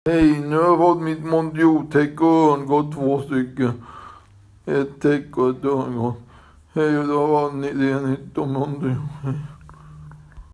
Hej, nu har jag fått mitt Mondiotäck och örngott 2 stycken. Ett täck och ett örngott. Hej, då var det nytt om Mondio.